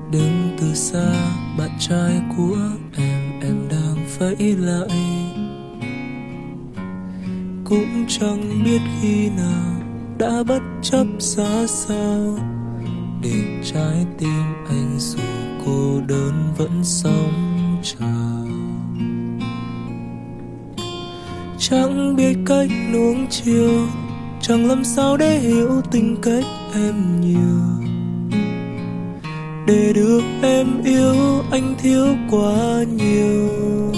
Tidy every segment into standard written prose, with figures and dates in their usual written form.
Đứng từ xa bạn trai của em đang vẫy lại. Cũng chẳng biết khi nào đã bất chấp giá sao, để trái tim anh dù cô đơn vẫn sống chào. Chẳng biết cách nuông chiều, chẳng làm sao để hiểu tình cách em nhiều. Để được em yêu anh thiếu quá nhiều.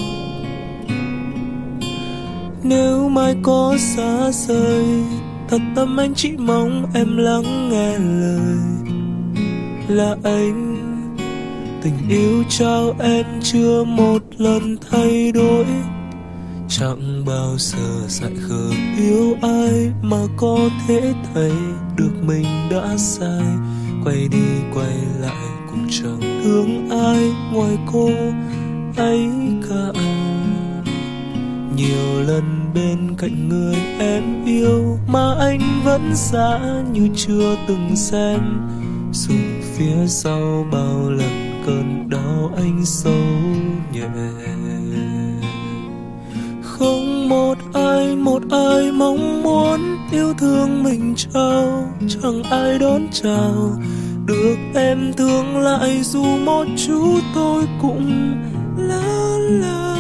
Nếu mai có xa rời, thật tâm anh chỉ mong em lắng nghe lời. Là anh, tình yêu trao em chưa một lần thay đổi. Chẳng bao giờ dại khờ yêu ai mà có thể thấy được mình đã sai. Quay đi quay lại cũng chẳng thương ai ngoài cô ấy cả. Nhiều lần bên cạnh người em yêu mà anh vẫn giả như chưa từng xem. Dù phía sau bao lần cơn đau anh sâu nhẹ. Không một ai mong muốn yêu thương mình trao, chẳng ai đón chào. Được em thương lại dù một chút tôi cũng lỡ là.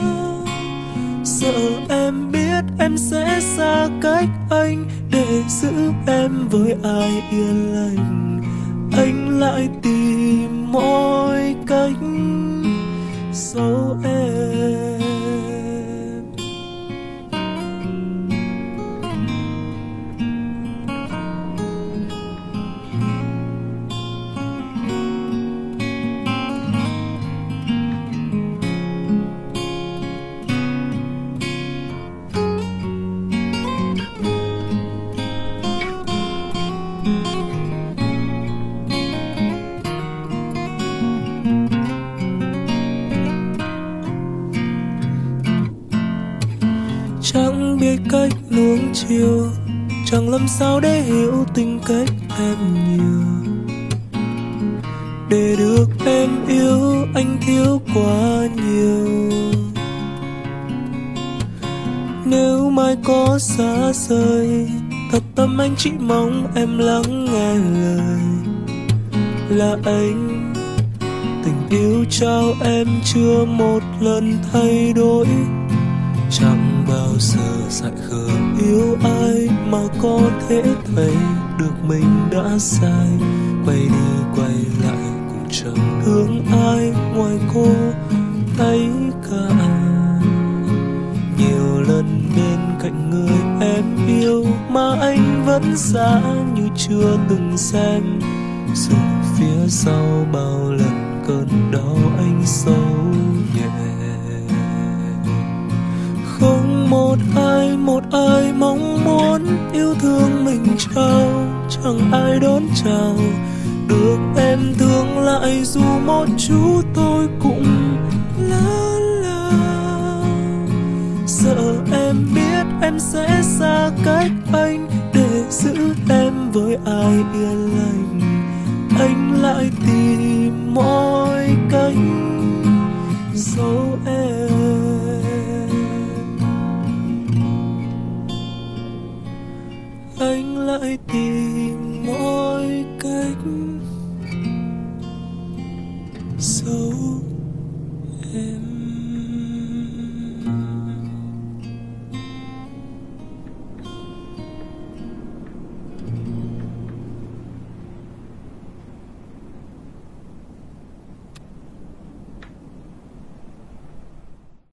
Sợ em biết em sẽ xa cách anh, để giữ em với ai yên lành. Anh lại tìm mọi cách giấu em. Chẳng biết cách nuông chiều, chẳng làm sao để hiểu tình cách em nhiều. Để được em yêu anh thiếu quá nhiều. Nếu mai có xa rời, thật tâm anh chỉ mong em lắng nghe lời. Là anh, tình yêu trao em chưa một lần thay đổi. Chẳng bao giờ dại khờ yêu ai mà có thể thấy được mình đã sai. Quay đi quay lại cũng chẳng thương ai ngoài cô ấy cả. Nhiều lần bên cạnh người em yêu mà anh vẫn giả như chưa từng xem. Dù phía sau bao lần cơn đau anh sâu nhẹ. Không một ai mong muốn yêu thương mình trao, chẳng ai đón chào. Được em thương lại dù một chút tôi cũng lỡ là. Sợ em biết em sẽ xa cách anh, để giữ em với ai yên lành. Anh lại tìm mọi cách giấu em. Anh lại tìm mọi cách giấu